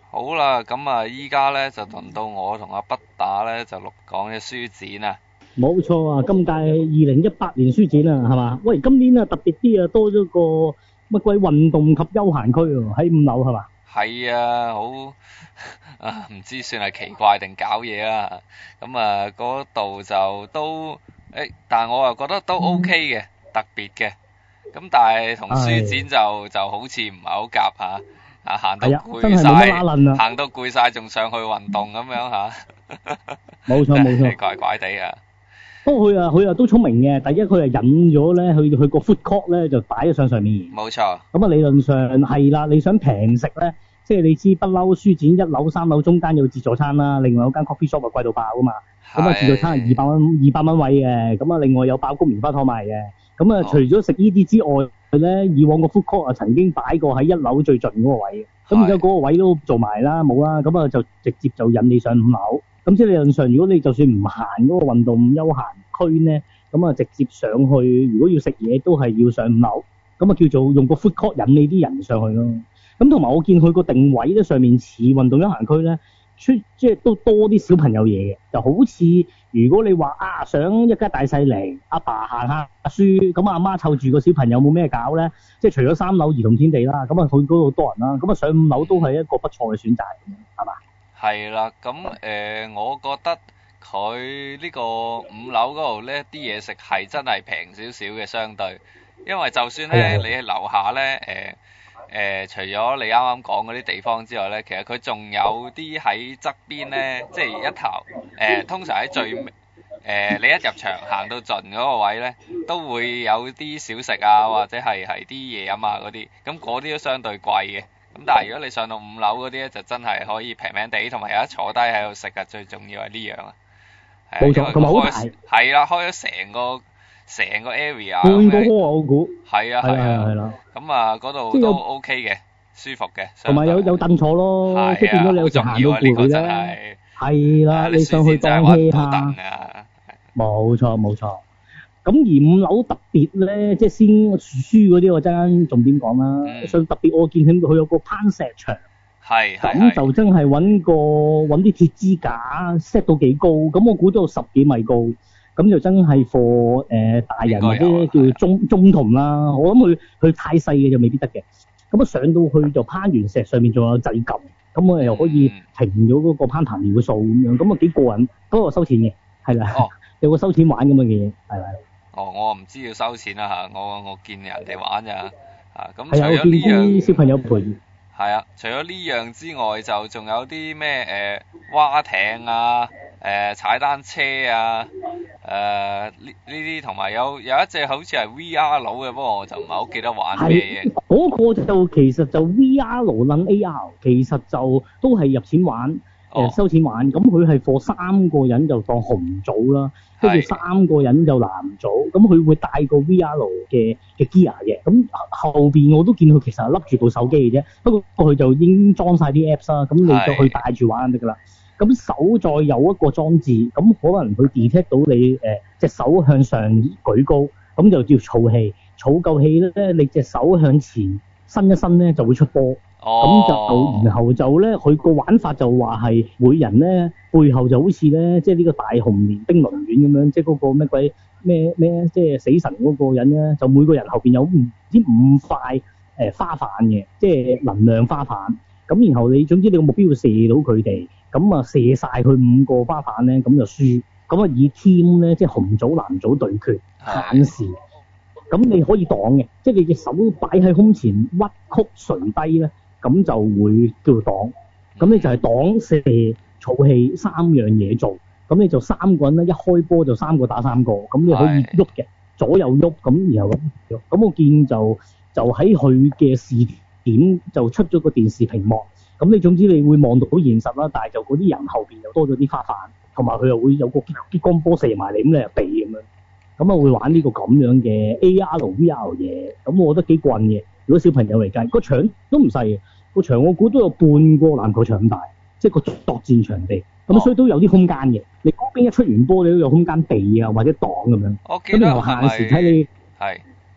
好啦，咁啊，依家咧就輪到我同阿北打咧就錄講嘅書展啊。 冇錯啊，今屆2018年書展啊，係嘛？喂，今年啊特別啲啊，多咗個乜鬼運動及休閒區喎，喺5樓係嘛？ 係啊，好啊，唔知算係奇怪定搞嘢啦。咁啊，嗰度就都但係我又覺得都 OK 嘅，特別嘅。咁但係同書展就好似唔係好夾嚇，行到攰真係冇乜拉楞啊， 行到攰晒仲上去運動咁樣嚇。 冇錯冇錯， 怪怪地啊！ 不過佢啊都聰明嘅，第一佢係引咗咧，佢個 food court 咧就擺咗上面。 冇錯。 咁啊理論上係啦，你想平食咧，即係你知不嬲書展1樓3樓中間有自助餐啦，另外有間 coffee shop 啊貴到爆噶嘛。咁啊自助餐係200蚊位嘅，咁啊另外有爆谷棉花糖賣嘅。咁啊除咗食呢啲之外咧，以往個 food court 啊曾經擺過喺1樓最盡嗰個位嘅。咁而家嗰個位都做埋啦，冇啦，咁啊就直接就引你上5樓。咁即係理論上，如果你就算唔行嗰個運動休閒區咧，咁啊直接上去，如果要食嘢都係要上5樓，咁啊叫做用個 food court 引你啲人上去咯。咁同埋我見佢個定位咧，上面似運動休閒區咧，即係都多啲小朋友嘢嘅，就好似如果你話想一家大細嚟，阿爸行下書，咁阿媽湊住個小朋友冇咩搞咧，即係除咗3樓兒童天地啦，咁啊佢嗰度多人啦，咁啊上5樓都係一個不錯嘅選擇，係嘛？ 係啦，咁我覺得佢呢個5樓嗰度呢啲嘢食係真係平少少嘅相對，因為就算咧你喺樓下咧除咗你啱啱講嗰啲地方之外咧，其實佢仲有啲喺側邊咧，即係一頭通常喺最你一入場行到盡嗰個位咧，都會有啲小食啊，或者係啲嘢飲啊嗰啲，咁嗰啲都相對貴嘅。咁但係如果你上到5樓嗰啲咧，就真係可以平平地，同埋有得坐低喺度食啊！最重要係呢樣啊， 冇錯，同埋好大。 係啦，開咗成個 area。 半個窩我估。 係啊。 係啦。 咁啊，嗰度都 OK 嘅，舒服嘅。 同埋有凳坐咯，即係變咗你有時行到攰咧。係啦，你上去當 hea 下。冇錯。咁而5樓特別咧，即係先書嗰啲我陣間重點講啦。所以特別我見佢有個攀石場，咁就真係揾啲鐵支架 set 到幾高，咁我估都有10幾米高，咁就真係 for 大人或者叫中童啦。我諗佢太細嘅就未必得嘅。咁上到去就攀完石，上面仲有掣撳，咁我又可以停咗嗰個攀彈搖嘅數咁樣，咁啊幾過癮，不過收錢嘅，係啦，有個收錢玩咁嘅嘢，係咪？ 我唔知要收錢啦嚇，我見人哋玩咋嚇，咁除咗呢樣小朋友陪。 係啊，除咗呢樣之外，就仲有啲咩蛙艇啊、踩單車啊、呢啲，同埋有一隻好似係 VR 佬嘅，不過我就唔係好記得玩咩嘢。 嗰個就其實就 VR 佬撚 AR，其實就都係入錢玩。收錢玩，咁佢係貨3個人就當紅組啦，跟住3個人就藍組，咁佢會帶個 VR 嘅 gear 嘅，咁後邊我都見佢其實係笠住部手機嘅啫，不過佢就已經裝晒啲 apps 啦，咁你就去帶住玩就得㗎啦。咁手再有一個裝置，咁可能佢 detect 到你隻手向上舉高，咁就叫儲氣，儲夠氣咧，你隻手向前伸一伸咧就會出波。咁就然後就咧，佢個玩法就話係每人咧背後就好似咧，即係呢個大雄連兵輪丸咁樣，即係嗰個咩鬼咩，即係死神嗰個人咧，就每個人後邊有唔知5塊花瓣嘅，即係能量花瓣。咁然後你總之你個目標要射到佢哋，咁啊射晒佢5個花瓣咧，咁就輸。咁啊以 team 咧，即係紅組藍組對決限時。咁你可以擋嘅，即係你隻手擺喺胸前屈曲垂低咧。咁就會叫做擋，咁你就係擋射儲氣3樣嘢做，咁你就3個人咧，一開波就3個打3個，咁你可以喐嘅，左右喐，咁然後咁我見就喺佢嘅視點就出咗個電視屏幕，咁你總之你會望到好現實啦，但係就嗰啲人後邊又多咗啲花瓣，同埋佢又會有個激光波射埋嚟，咁你又避咁樣，咁啊會玩呢個咁樣嘅 AR VR 嘢，咁我覺得幾棍嘅。如果小朋友嚟計，個場都唔細嘅，個場我估都有半個籃球場咁大，即係個作戰場地，咁所以都有啲空間嘅。你嗰邊一出完波，你都有空間避啊或者擋咁樣。 我記得咁然後限時睇你係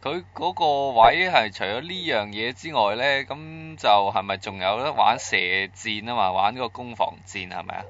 佢嗰個位係除咗呢樣嘢之外咧，咁就係咪仲有得玩射箭啊嘛？玩嗰個攻防戰係咪啊？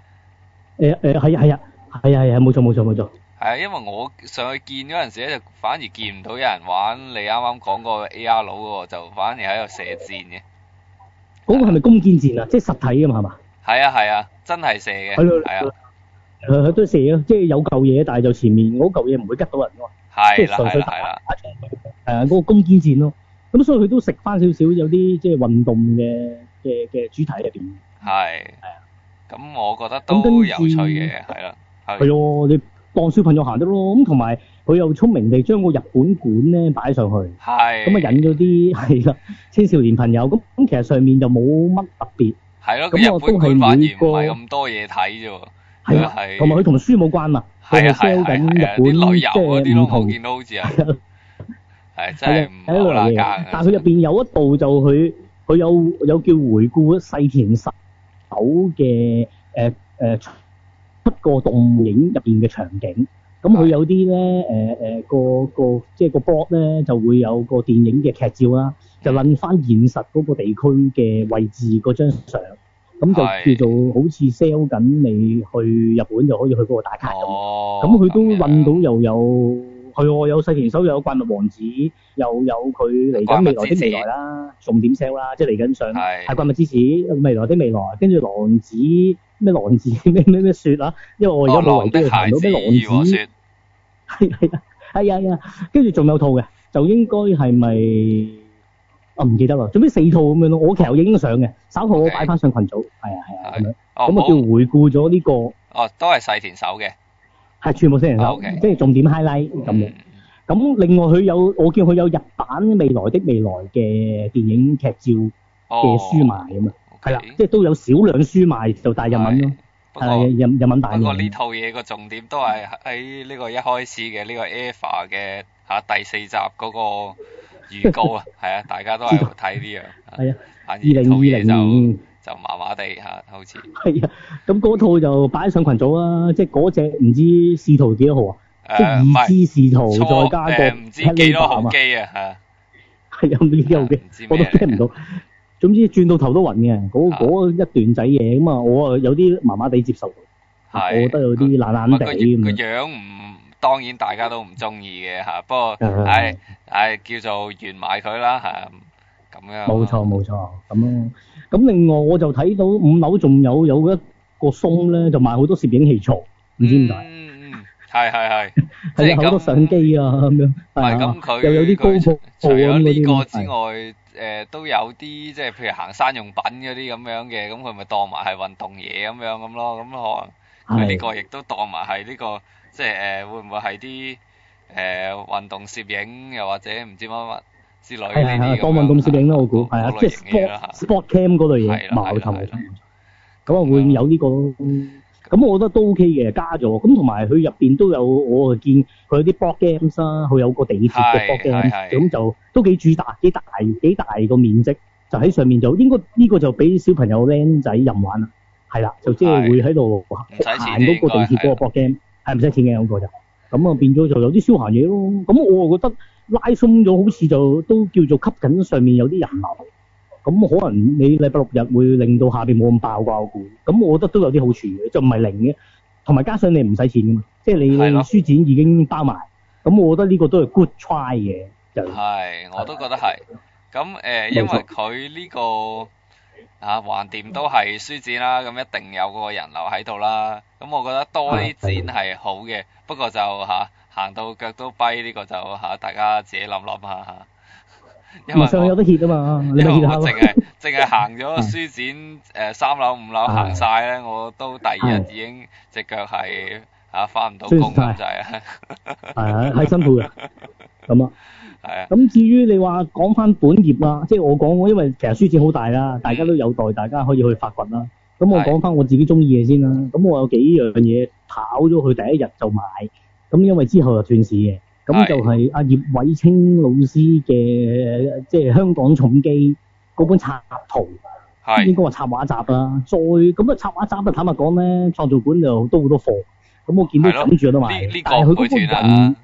係冇錯。 係啊，因為我上去見嗰陣時咧，就反而見唔到有人玩你啱啱講個 AR 佬嗰個，就反而喺度射箭嘅。 嗰個係咪弓箭戰啊？即係實體㗎嘛係嘛？ 係啊，真係射嘅。係啊。 都射咯，即係有嚿嘢，但係就前面嗰嚿嘢唔會吉到人㗎嘛。即係純粹打嗰個弓箭戰咯。咁所以佢都食翻少少有啲即係運動嘅主題入邊。係啊。 咁我覺得都有趣嘅，係啦。 係咯，你當小朋友行得咯。咁同埋佢又聰明地將個日本館咧擺上去。係。咁啊引咗啲係啦青少年朋友。咁其實上面就冇乜特別。係咯。咁我都係反而唔係咁多嘢睇啫喎。係啊，同埋佢同書冇關嘛。係 sell 緊日本旅遊嗰啲咯， 唔同我見到好似係。係真係唔好啦家。 但係佢入邊有一度就佢有叫回顧細田守嘅出個動影入邊嘅場景。咁佢有啲咧個即係個 blog 咧就會有個電影嘅劇照啦，就撚翻現實嗰個地區嘅位置嗰張相。咁就叫做好似 sell 緊你去日本就可以去嗰個打卡咁。咁佢都揾到又有細田守，又有怪物王子，又有佢嚟緊未來的未來啦，重點 sell 啦，即係嚟緊上係怪物之子未來的未來，跟住狼子咩雪啊，因為我而家冇維基去查到咩狼子。係啊，跟住仲有套嘅，就應該係咪？我唔記得啦，總之4套咁樣咯。我其實影咗相嘅，稍後我擺翻上群組。係啊咁樣。咁啊叫回顧咗呢個。都係細田守嘅。係全部細田守，即係重點 highlight 咁樣。咁另外我見佢有日版未來的未來嘅電影劇照嘅書賣咁啊。係啦，即係都有少量書賣，就帶日文咯。係日文版嘅。不過呢套嘢個重點都係喺呢個一開始嘅呢個 EVA 嘅第4集嗰個預告啊，係啊，大家都係睇呢樣。係啊。2020年就麻麻地好似。係啊，咁嗰套就擺上群組啦，即係嗰隻唔知使徒幾多號啊？即係已知使徒再加個唔知幾多號機啊？ 係啊，唔知幾號機，我都聽唔到。總之轉到頭都暈嘅，嗰一段仔嘢咁啊，我啊有啲麻麻地接受到。我覺得有啲懶懶地咁。個樣唔。當然大家都唔中意嘅嚇，不過叫做完埋佢啦嚇，咁樣。冇錯咁咯。咁另外我就睇到5樓仲有一個松咧，就賣好多攝影器材，唔知點解。係。即係好多相機啊咁樣。係咁佢又有啲高速除咗呢個之外，都有啲即係譬如行山用品嗰啲咁樣嘅，咁佢咪當埋係運動嘢咁咯，咁可能佢呢個亦都當埋係呢個。即係會唔會係啲運動攝影，又或者唔知乜之類呢啲當運動攝影啦，我估係啊，即係 sport cam 嗰類嘢，冇錯。咁啊會有呢個咯。咁我覺得都 OK 嘅，加咗。咁同埋佢入邊都有，我見佢有啲 board games 啦，佢有個地鐵嘅 board game，咁就都幾大個面積，就喺上面就應該呢個就俾小朋友僆仔任玩啦。係啦，就即係會喺度行嗰個地鐵嗰個 board game。係唔使錢嘅嗰個就，咁啊變咗就有啲消閒嘢咯。咁我覺得拉鬆咗，好似就都叫做吸緊上面有啲人流。咁可能你禮拜6日會令到下邊冇咁爆啩，我估。咁我覺得都有啲好處嘅，就唔係零嘅。同埋加上你唔使錢噶嘛，即係你書展已經包埋。咁我覺得呢個都係 good try 嘅。係，我都覺得係。咁因為佢呢個橫掂都係書展啦，咁一定有個人流喺度啦。咁我覺得多啲展係好嘅，不過就行到腳都跛呢個就大家自己諗下。因為上有得歇啊嘛，你咪歇下咯。淨係行咗書展3樓5樓行晒咧，我都第2日已經隻腳係返唔到工咁滯啊。係辛苦嘅。咁啊。係啊。咁至於你話講翻本業啦，即係我講，因為其實書展好大啦，大家都有待大家可以去發掘啦。咁我講翻我自己中意嘅先啦。咁我有幾樣嘢跑咗佢第1日就買，咁因為之後就斷市嘅。咁就係阿葉偉清老師嘅，即係香港重機嗰本插圖，應該話插畫集啦。再咁插畫集啊，坦白講咧，創造館就都好多貨。咁我見到等住有得買，但係佢嗰個人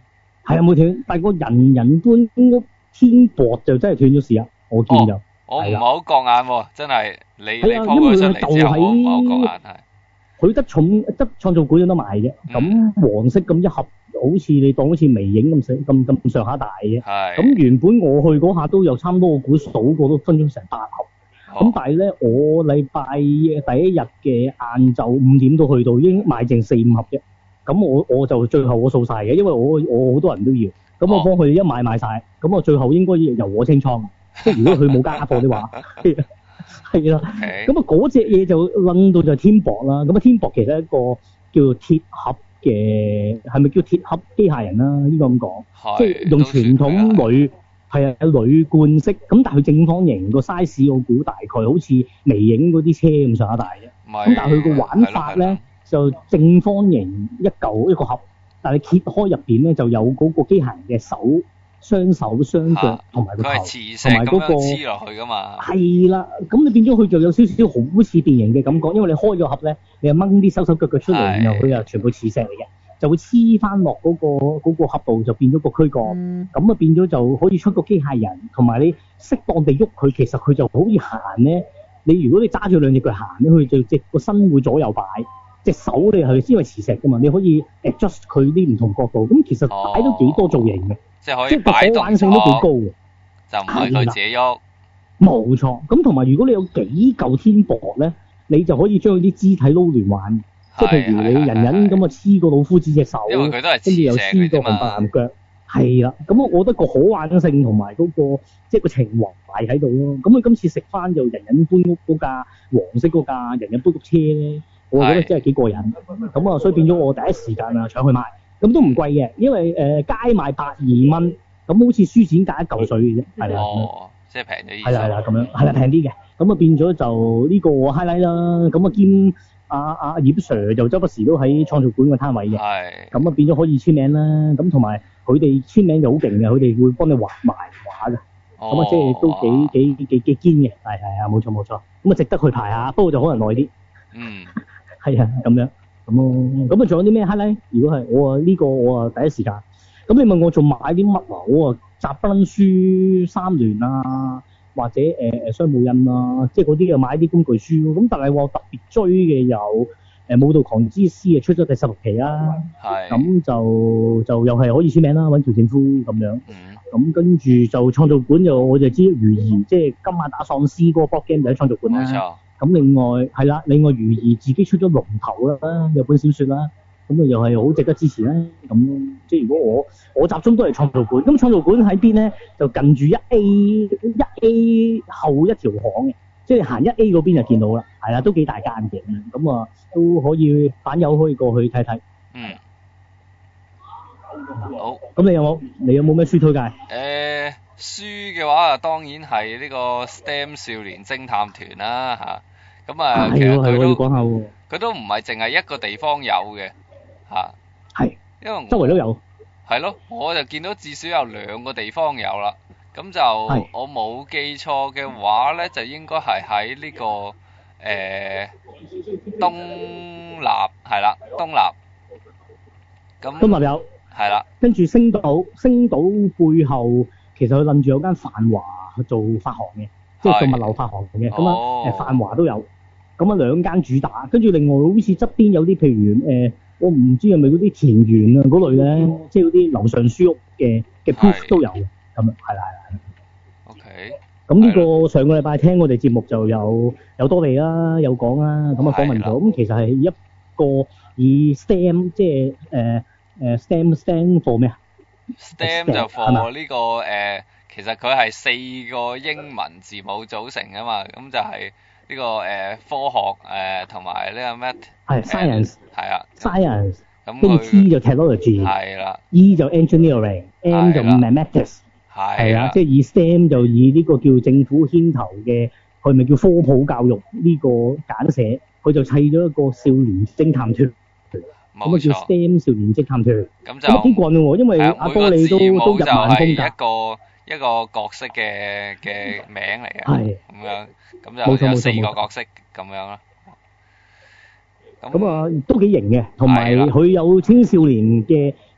係啊冇斷，但係個人人搬屋天幕就真係斷咗事啊！我見就。 我唔係好覺眼喎，真係你係啊， 鋪佢出嚟之後，我唔係好覺眼係。 佢得創造館有得賣啫，咁黃色咁一盒，好似你當好似微影咁上下大嘅。 係。 咁原本我去嗰下都有差唔多，我估數過都分咗成8盒。咁但係咧，我禮拜第一日嘅晏晝5點都去到，已經賣剩4-5盒啫。咁我就最後我掃晒嘅，因為我好多人都要，咁我幫佢一買晒，咁我最後應該由我清倉。即係如果佢冇加貨的話，係啦。咁啊嗰隻嘢就撚到就天博啦。咁啊天博其實係一個叫做鐵盒嘅，係咪叫鐵盒機械人啦？應該咁講，即係用傳統鋁係啊鋁罐式，咁但係佢正方形個 size，我估大概好似微影嗰啲車咁上下大嘅。咁但係佢個玩法咧就正方形一個盒，但係揭開入邊咧就有嗰個機械人嘅手。雙手雙腳同埋個頭，同埋嗰個黐落去噶嘛。 係啦，咁你變咗佢就有少少好似電形嘅感覺，因為你開咗盒咧，你又掹啲手手腳腳出嚟，然後佢又全部磁石嚟嘅，就會黐翻落嗰個盒度，就變咗個軀幹。咁啊變咗就可以出個機械人，同埋你適當地喐佢，其實佢就好似行咧。你如果你揸住兩隻腳行咧，佢就隻個身會左右擺，隻手你係因為磁石噶嘛，你可以 adjust 佢啲唔同角度。咁其實擺到幾多造型嘅。 即係可以擺動， 可玩性都幾高嘅， 就唔係佢自己喐。 冇錯，咁同埋如果你有幾嚿天博咧，你就可以將啲肢體撈亂玩，即係譬如你人咁啊黐個老夫子隻手， 因為佢都係跟住又黐個紅白藍腳，係啦。咁我覺得個可玩性同埋嗰個即係個情懷喺度咯。咁佢今次食翻就人人搬屋嗰架黃色嗰架人人搬屋車咧，我覺得真係幾過癮。咁啊，所以變咗我第一時間啊搶去買。咁都唔貴嘅，因為街賣120蚊，咁好似書展價1嚿水嘅啫，係啦。 哦，即係平咗啲。 係啦，咁樣係啦，平啲嘅。咁啊變咗就呢個 highlight 啦。咁啊兼阿葉 Sir 就周不時都喺創造館個攤位嘅。係。咁啊變咗可以簽名啦。咁同埋佢哋簽名就好勁嘅，佢哋會幫你畫埋畫嘅。咁啊即係都幾堅嘅。係啊，冇錯。咁啊值得去排下，不過就可能耐啲。嗯。係啊，咁樣。咁啊，仲有啲咩 highlight？如果係我呢個我第一時間。咁你問我仲買啲乜啊？我集不撚書3聯啊，或者商務印啊，即係嗰啲又買啲工具書。咁但係我特別追嘅有武道狂之詩出咗第16期啦。係。咁就又係可以簽名啦，揾喬正夫咁樣。咁跟住就創造館我就知如兒，即係今晚打喪屍嗰個 board game 就喺創造館啦。冇錯。咁另外係啦，另外如兒自己出咗龍頭啦，有本小說啦，咁啊又係好值得支持啦。咁即係如果我集中都係創造館，咁創造館喺邊咧？就近住1A 後一條巷嘅，即係行1A 嗰邊就見到啦。係啦，都幾大間嘅，咁啊都可以版友可以過去睇睇。嗯。好。咁你有冇咩書推介？ 書嘅話啊，當然係呢個 STEM 少年偵探團啦嚇，咁啊其實佢都唔係淨係一個地方有嘅嚇，係，因為周圍都有， 係咯，我就見到至少有2個地方有啦，咁就我冇記錯嘅話咧，就應該係喺呢個東立係啦，東立，咁東立有， 係啦，跟住星島背後。其實佢諗住有間泛華做發行嘅，即係做物流發行嘅，咁啊泛華都有，咁啊2間主打，跟住另外好似側邊有啲譬如我唔知係咪嗰啲田園啊嗰類咧，即係嗰啲樓上書屋嘅 proof 都有嘅，咁樣係啦。OK。咁呢個上個禮拜聽我哋節目就有多利啦，有講啦，咁啊訪問咗，咁其實係一個以 STEM 即係STEM stand for 咩啊？ STEM 就 for 呢個其實佢係4個英文字母組成㗎嘛，咁就係呢個科學同埋呢個咩？係 science 係啊 science， 咁跟住 T 就 technology 係啦 ，E 就 engineering，M 就 mathematics 係啊，即係以 STEM 就以呢個叫政府牽頭嘅，佢咪叫科普教育呢個簡寫，佢就砌咗一個少年偵探團。咁啊叫 STEM 少年偵探團，咁就幾棍喎，因為阿多利都入萬豐㗎。一個角色嘅名嚟嘅，係咁樣，咁就有4個角色咁樣啦。咁啊都幾型嘅，同埋佢有青少年嘅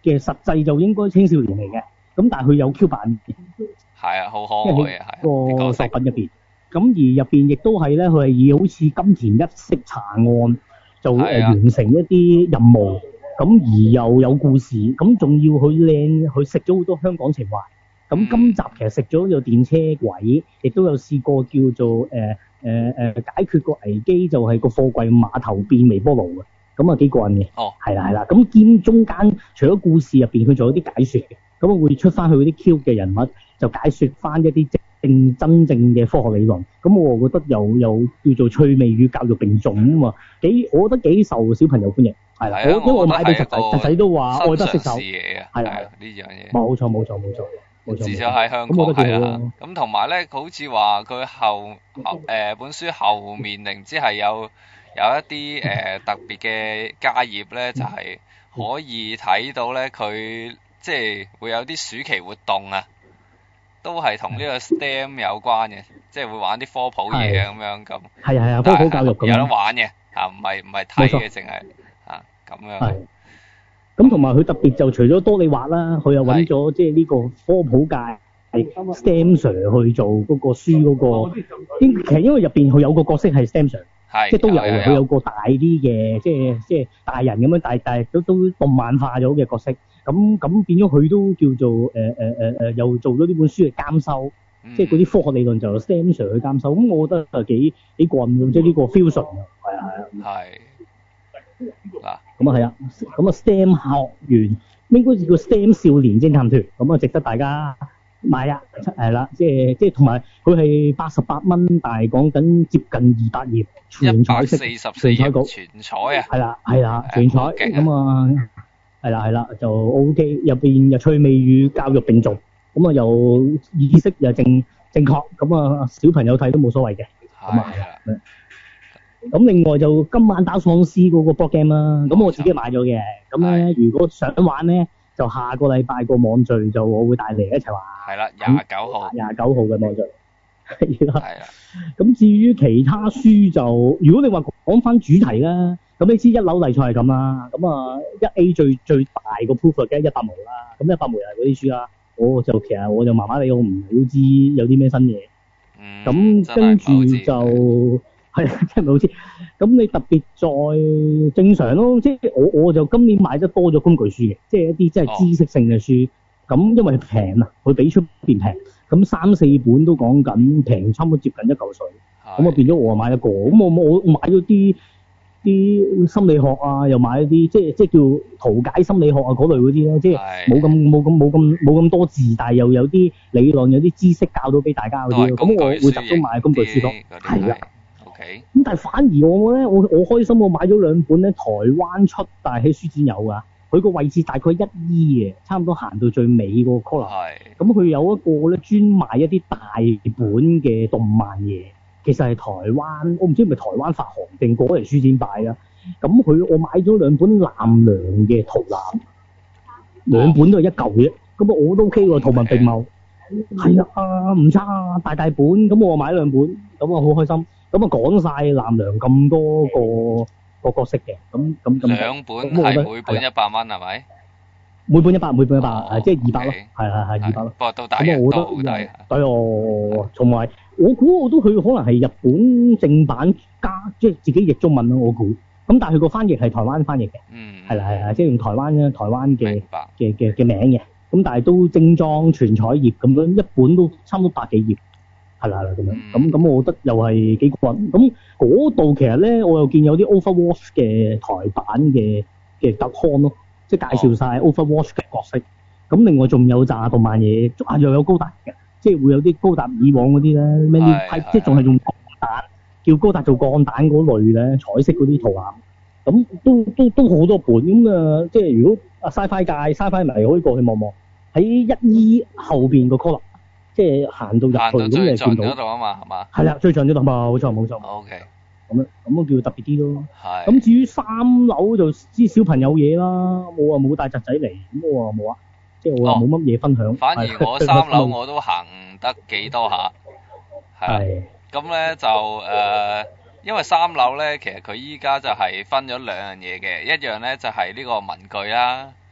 嘅實際就應該青少年嚟嘅，咁但係佢有 Q 版嘅， 係啊，好可愛啊，係個作品入邊。咁而入邊亦都係咧，佢係以好似金田一式查案，就完成一啲任務，咁而又有故事，咁仲要佢靚，佢食咗好多香港情懷。咁今集其實食咗有電車軌，亦都有試過叫做解決個危機，就係個貨櫃碼頭變微波爐嘅，咁啊幾過癮嘅。哦，係啦，咁兼中間除咗故事入邊，佢仲有啲解說嘅，咁啊會出翻去嗰啲 Q 嘅人物，就解說翻一啲真正嘅科學理論。咁我覺得又叫做趣味與教育並重啊嘛，我覺得幾受小朋友歡迎。係啦，因為我買俾侄仔，侄仔都話愛不釋手。係啦，呢樣嘢。冇錯。 至少喺香港係啦，咁同埋咧，好似話佢本書後面定唔知係有一啲特別嘅家頁咧，就係可以睇到咧，佢即係會有啲暑期活動啊，都係同呢個 STEM 有關嘅，即係會玩啲科普嘢咁樣咁。係科普教育咁。 有得玩嘅嚇，唔係睇嘅，淨係嚇咁樣。 咁同埋佢特別就除咗多利畫啦，佢又揾咗即係呢個科普界係 STEM Sir 去做嗰個書嗰個。其實因為入邊佢有個角色係 STEM Sir，即係都有嘅。佢有個大啲嘅，即係大人咁樣，但係都動漫化咗嘅角色。咁變咗佢都叫做又做咗呢本書嘅監修，即係嗰啲科學理論就由 STEM Sir 去監修。咁我覺得係幾過癮，即係呢個 fusion 啊，係。嗱，咁啊係啊，咁啊 STEM 學園應該叫 STEM 少年偵探團，咁啊值得大家買啊，係啦，即係同埋佢係88蚊，但係講緊接近200頁，全彩色，全彩稿， 全彩啊， 係啦，全彩，咁啊係啦，就 OK，入邊又趣味與教育並重，咁啊又意識又正確，咁啊小朋友睇都冇所謂嘅，咁啊係啦。咁另外就今晚打喪屍嗰個 board game 啦，咁我自己買咗嘅。咁咧如果想玩咧，就下個禮拜個網聚就我會帶嚟一齊玩。係啦，29號。29號嘅網聚。係啦。咁至於其他書就，如果你話講翻主題啦，咁你知一樓例賽係咁啦，咁啊1A 最大個 proof 嘅100毛啦，咁100毛又係嗰啲書啦，其實我就麻麻地，我唔係好知有啲咩新嘢。咁跟住就。係，真係好似咁你特別再正常咯，即係我就今年買得多咗工具書嘅，即係一啲即係知識性嘅書。咁因為平啊，佢比出邊平，咁3-4本都講緊平，差唔多接近1嚿水。咁啊變咗我買一個，咁我買咗啲心理學啊，又買一啲即係叫圖解心理學啊嗰類嗰啲咧，即係冇咁多字，但係又有啲理論，有啲知識教到俾大家嗰啲咯。咁我會集中買工具書咯，係啦。咁但係反而我咧，我開心，我買咗2本咧，台灣出，但係喺書展有噶。佢個位置大概1E嘅，差唔多行到最尾個 corner。咁佢有一個咧專賣一啲大本嘅動漫嘢，其實係台灣，我唔知係咪台灣發行定過嚟書展擺啦。咁我買咗2本南良嘅圖鑑，2本都係1嚿啫。咁我都 OK 喎，圖文並茂。係啊，唔差啊，大本。咁我買2本，咁我好開心。咁啊講晒南良咁多個角色嘅，咁 2本係每本100蚊係咪？ 每本100，即係200咯，係200咯。不過都抵嘅，都好抵。 對哦，同埋我估佢可能係日本正版加，即係自己譯中文咯，我估。咁但係佢個翻譯係台灣翻譯嘅，係啦，即係用台灣嘅名嘅。咁但係都精裝全彩頁咁樣，一本都差唔多100幾頁。係啦咁樣，咁我覺得又係幾過癮。咁嗰度其實咧，我又見有啲 Overwatch 嘅台版嘅特刊咯，即係介紹晒 Overwatch 嘅角色。咁另外仲有紮動漫嘢，又有高達嘅，即係會有啲高達以往嗰啲咧，咩啲即係仲係用鋼彈，叫高達做鋼彈嗰類咧，彩色嗰啲圖案。咁都好多本咁啊！即係如果Sci-Fi 界 Sci-Fi 迷可以過去望望，喺1E後邊個 corner。即係行到入去咁你見到。最盡嗰度啊嘛，係嘛？係啦，最盡嗰度嘛，冇錯。 OK。 咁叫特別啲咯。係。咁至於3樓就知小朋友嘢啦，我冇帶侄仔嚟，咁我話冇啊，即係我話冇乜嘢分享。 反而我3樓我都行得幾多下。係。咁咧就因為3樓咧，其實佢依家就係分咗2樣嘢嘅，一樣咧就係呢個文具啦。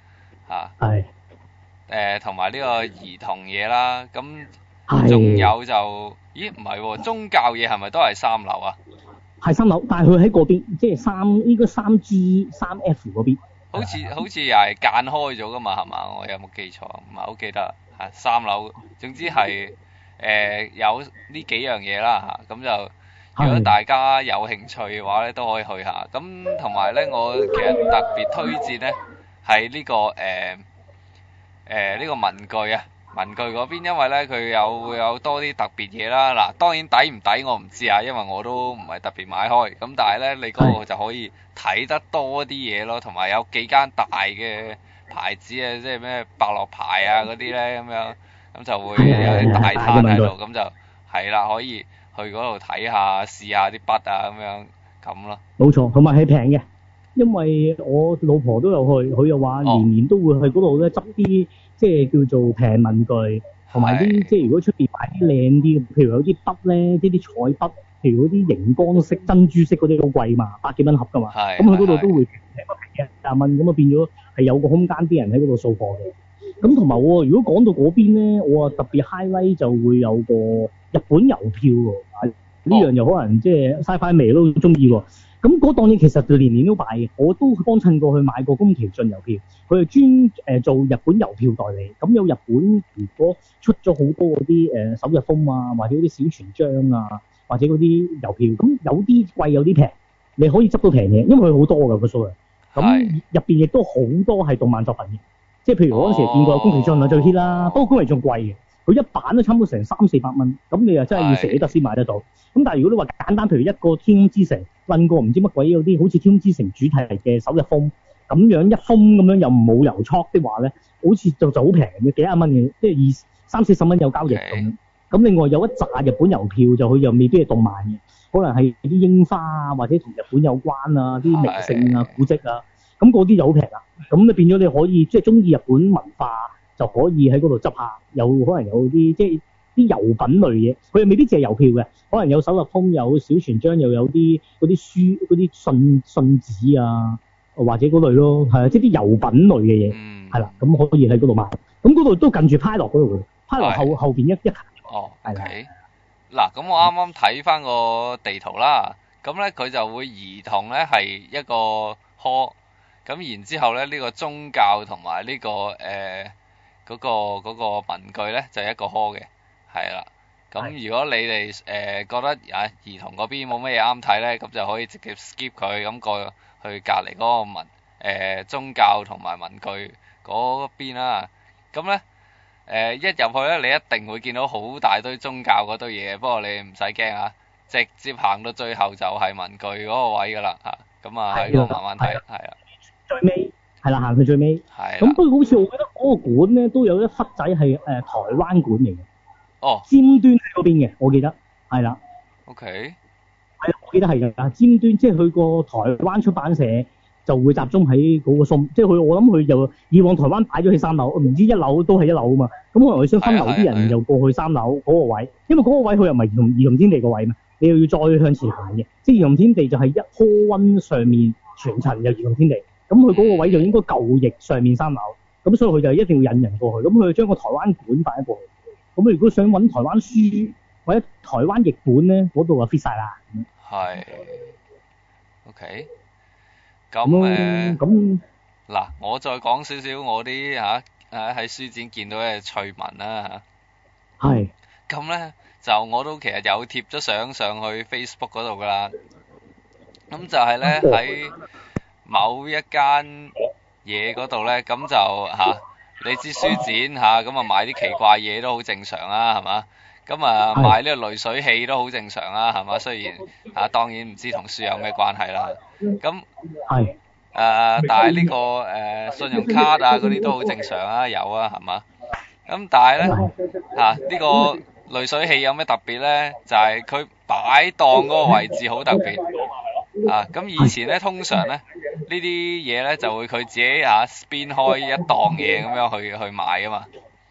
嚇。 係。 同埋呢個兒童嘢啦，咁係。 仲有就，咦唔係喎，宗教嘢係咪都係3樓啊？ 係3樓，但係佢喺嗰邊，即係應該3G 3F 嗰邊。 好似又係間開咗噶嘛，係嘛？我有冇記錯？唔係好記得，係3樓。總之係有呢幾樣嘢啦嚇，咁就如果大家有興趣嘅話咧，都可以去下。咁同埋咧，我其實特別推薦咧係呢個呢個文具啊，文具嗰邊，因為咧佢會有多啲特別嘢啦。嗱，當然抵唔抵我唔知啊，因為我都唔係特別買開。咁但係咧，你嗰個就可以睇得多啲嘢咯，同埋有幾間大嘅牌子啊，即係咩百樂牌啊嗰啲咧咁樣，咁就會有啲大攤喺度，咁就係啦，可以去嗰度睇下，試下啲筆啊咁樣咁咯。 冇錯，同埋係平嘅。因為我老婆都有去，佢又話年年都會去嗰度咧執啲即係叫做平文具，同埋啲即係如果出邊買啲靚啲，譬如有啲筆咧，呢啲彩筆，譬如嗰啲熒光色、珍珠色嗰啲好貴嘛，100幾蚊盒噶嘛，咁佢嗰度都會平嘅，20蚊，咁啊變咗係有個空間啲人喺嗰度掃貨嘅。咁同埋我如果講到嗰邊咧，我啊特別 highlight 就會有個日本郵票喎，呢樣又可能即係 Sci-Fi 味都中意喎。咁嗰檔嘢其實就年年都擺嘅，我都幫襯過去買過宮崎駿郵票，佢係專做日本郵票代理。咁有日本如果出咗好多嗰啲首日封啊，或者嗰啲小傳章啊，或者嗰啲郵票，咁有啲貴有啲平，你可以執到平嘢，因為佢好多㗎個數量。咁入邊亦都好多係動漫作品嘅，即係譬如我嗰陣時見過宮崎駿啊最 hit 啦，不過宮崎駿貴嘅，佢一版都差唔多成300-400蚊，咁你又真係要捨得先買得到。咁但係如果你話簡單，譬如一個天空之城，揾個唔知乜鬼有啲好似天空之城主題嘅首日封，咁樣一封咁樣又冇郵戳的話咧，好似就好平嘅，幾廿蚊嘅，即係30-40蚊有交易咁。咁另外有一紮日本郵票就佢又未必係動漫嘅，可能係啲櫻花啊，或者同日本有關啊，啲名勝啊、古蹟啊，咁嗰啲就好平啦。咁你變咗你可以即係中意日本文化就可以喺嗰度執下，有可能有啲即係啲郵品類嘢，佢又未必淨係郵票嘅，可能有首日封，有小傳章，又有啲嗰啲書、嗰啲信紙啊，或者嗰類咯，係啊，即係啲郵品類嘅嘢，係啦，咁可以喺嗰度買。咁嗰度都近住派樂嗰度嘅，派樂後邊一級。 哦，OK。嗱，咁我啱啱睇翻個地圖啦，咁咧佢就會兒童咧係一個科，咁然之後咧呢個宗教同埋呢個嗰個文具咧就一個科嘅。係啦，咁如果你哋覺得兒童嗰邊冇乜嘢啱睇咧，咁就可以直接 skip 佢，咁過去隔離嗰個宗教同埋文具嗰邊啦。咁咧一入去咧，你一定會見到好大堆宗教嗰堆嘢，不過你唔使驚啊，直接行到最後就係文具嗰個位㗎啦嚇。咁啊喺度慢慢睇，係啦。 最尾係啦，行去最尾。係。咁不過好似我覺得嗰個館咧都有一忽仔係台灣館嚟嘅。 哦， 尖端喺嗰邊嘅，我記得係啦。 OK。 係啊，我記得係㗎。尖端即係佢個台灣出版社就會集中喺嗰個即係我諗佢就以往台灣擺咗喺3樓，唔知1樓都係1樓啊嘛。咁可能佢想分流啲人又過去3樓嗰個位，因為嗰個位佢又唔係兒童天地個位嘛，你又要再向前行嘅。即係兒童天地就係一科溫上面全層有兒童天地，咁佢嗰個位就應該舊翼上面3樓，咁所以佢就一定要引人過去，咁佢就將個台灣館擺過去。咁如果想揾台灣書或者台灣譯本咧，嗰度就 fit 晒啦。 係。OK。咁咁嗱，我再講少少我啲喺書展見到嘅趣聞啦嚇。 係。 咁咧就我都其實有貼咗相上去 Facebook 嗰度噶啦。咁就係咧喺某一間嘢嗰度咧，咁就你知書展咁啊買啲奇怪嘢都好正常啊，係嘛？咁啊買呢個濾水器都好正常啊，係嘛？雖然當然唔知同書有咩關係啦。咁係但係呢個信用卡嗰啲都好正常啊，有啊，係嘛？咁但係咧呢個濾水器有咩特別咧？就係佢擺檔嗰個位置好特別。咁以前咧通常咧呢啲嘢咧就會佢自己spin 開一檔嘢咁樣去買啊嘛。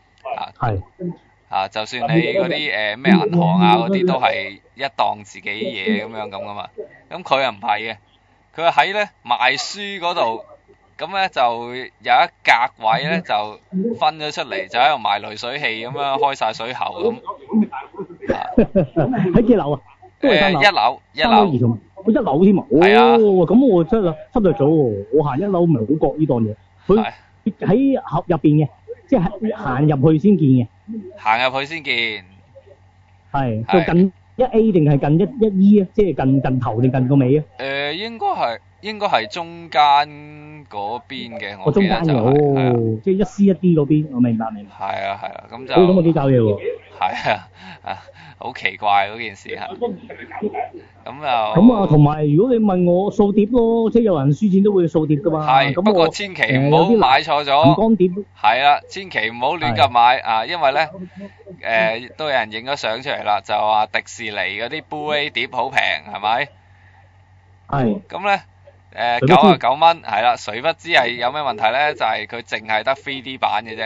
就算你嗰啲咩銀行嗰啲都係一檔自己嘢咁噶嘛。咁佢又唔係嘅，佢喺咧賣書嗰度，咁咁咧就有一格位咧就分咗出嚟，就喺度賣濾水器咁樣開晒水喉咁。 喺幾樓啊？都係三樓。 一樓。 三樓兒童，我一樓添啊！ 係啊哦，咁我真係忽略咗喎。我行一樓唔係好覺呢檔嘢，佢喺盒入邊嘅，即係行入去先見嘅。 行入去先見。 係，就近一 A 定係近一 E 啊？即係近頭定近個尾啊？ 應該係中間嗰邊嘅，我中間嘅，哦，即係一 C 一 D 嗰邊，我明白。 係啊，咁就。 咁我幾搞嘢喎。 係啊，好奇怪嗰件事嚇。咁啊， 同埋如果你問我掃碟咯，即係有人輸錢都會掃碟噶嘛。 係，不過千祈唔好買錯咗。魚缸碟。 係啦，千祈唔好亂咁買啊，因為咧都有人影咗相出嚟啦，就話迪士尼嗰啲 Blu-ray 碟好平，係咪？係。咁咧99蚊，係啦，誰不知係有咩問題咧？就係佢淨係得 3D 版嘅啫。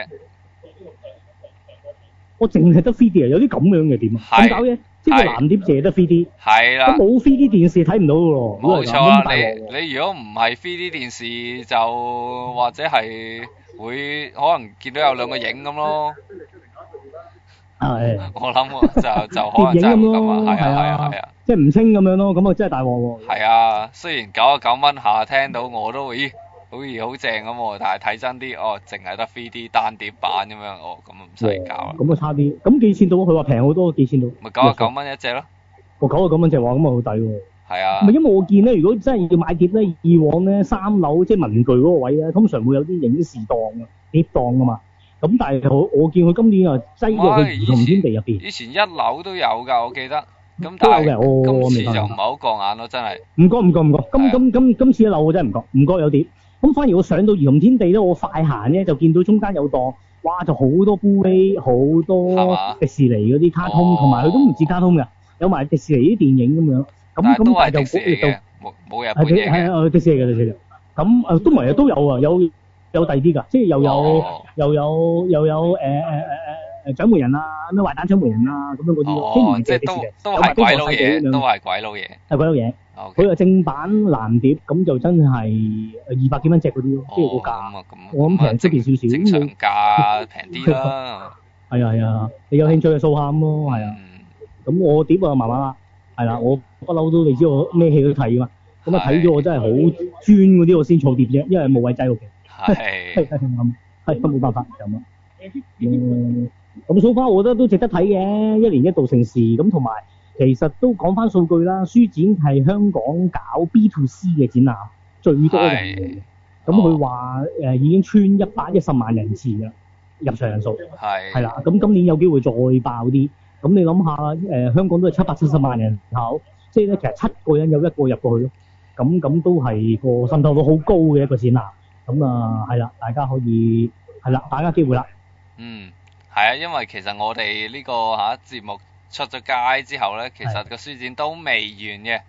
我淨係得 3D 啊？有啲咁樣嘅點啊？點搞嘅？即係個藍碟淨係得 3D。係啦。咁冇 3D 電視睇唔到嘅喎。冇錯啦，你如果唔係 3D 電視，就或者係會可能見到有兩個影咁咯。係。我諗就可能真係咁啊，係啊。即係唔清咁樣咯，咁啊真係大鑊喎。係啊，雖然99蚊下聽到我都會，好似好正咁喎，但係睇真啲，淨係得 3D 單碟版咁樣，咁唔使搞啦。咁啊差啲，咁幾錢到？佢話平好多，幾錢到？咪99蚊一隻咯。99蚊隻話，咁啊好抵喎。係啊。唔係因為我見咧，如果真係要買碟咧，以往咧3樓即係文具嗰個位咧，通常會有啲影視檔啊、碟檔噶嘛。咁但係我見佢今年又擠咗去兒童天地入邊。以前1樓都有㗎，我記得。咁但係今次就唔係好過眼咯，真係。唔覺。今次一樓我真係唔覺有碟。咁反而我上到兒童天地咧，我快行咧就見到中間有檔，哇！就好多 Blu-ray，好多迪士尼嗰啲卡通，同埋佢都唔止卡通㗎，有埋迪士尼啲電影咁樣。咁都係迪士尼嘅，冇日本嘢嘅。係迪士尼嘅。咁都唔係啊，都有啊，有第二啲㗎，即係又有獎門人啊，咩壞蛋獎門人啊，咁樣嗰啲，即係都係鬼佬嘢，都係鬼佬嘢。係鬼佬嘢。佢係正版藍碟，咁就真係200幾蚊隻嗰啲咯，即係個價。我諗平出邊少少。正常價平啲啦。係啊，你有興趣就掃下咁咯，係啊。咁我碟啊麻麻啦，係啦，我不嬲都你知我咩戲都睇嘛，咁啊睇咗我真係好專嗰啲我先儲碟啫，因為冇位擠屋企。係冇辦法咁啊。咁so far我覺得都值得睇嘅，一年一度盛事咁，同埋其實都講翻數據啦，書展係香港搞 B2C 嘅展覽最多人嘅，咁佢話已經穿110萬人次㗎入場人數，係啦，咁今年有機會再爆啲，咁你諗下香港都係770萬人口，即係咧其實7個人有1個入過去咯，咁都係個滲透率好高嘅一個展覽，咁啊係啦，大家可以係啦，大家機會啦。係啊，因為其實我哋呢個節目出咗街之後咧，其實個書展都未完嘅。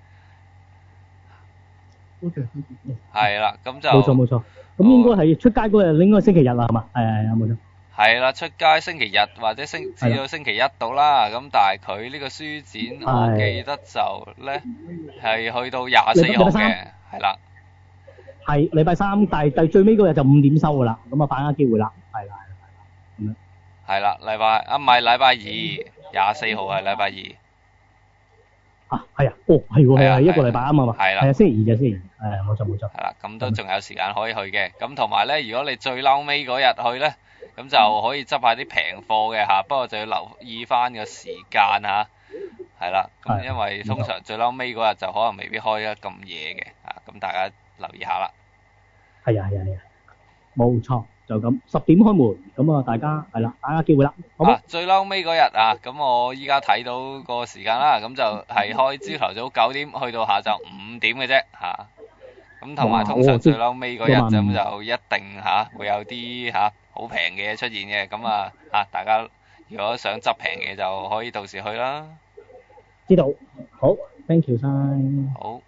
係啦，咁就冇錯。咁應該係出街嗰日，應該星期日啦，係嘛？係冇錯。係啦，出街星期日或者至到星期一到啦。咁但係佢呢個書展，我記得就咧係去到24號嘅，係啦。係禮拜3，但係最尾嗰日就5點收㗎啦。咁啊，把握機會啦，係啦。係啦，唔係禮拜2，24號係禮拜2。係啊，係喎，一個禮拜啱啊嘛。係啦。係啊，星期2就星期2，冇錯。係啦，咁都仲有時間可以去嘅。咁同埋咧，如果你最嬲尾嗰日去咧，咁就可以執下啲平貨嘅嚇，不過就要留意翻個時間嚇。係啦，咁因為通常最嬲尾嗰日就可能未必開得咁夜嘅嚇，咁大家留意下啦。係啊，冇錯。就咁10點開門，咁啊大家係啦，大家機會啦，好冇？最嬲尾嗰日啊，咁我依家睇到個時間啦，咁就係開朝頭早9點去到下晝5點嘅啫嚇，咁同埋通常最嬲尾嗰日咁就一定會有啲好平嘅嘢出現嘅，咁啊大家如果想執平嘅就可以到時去啦。知道，好 ，thank you 晒。好。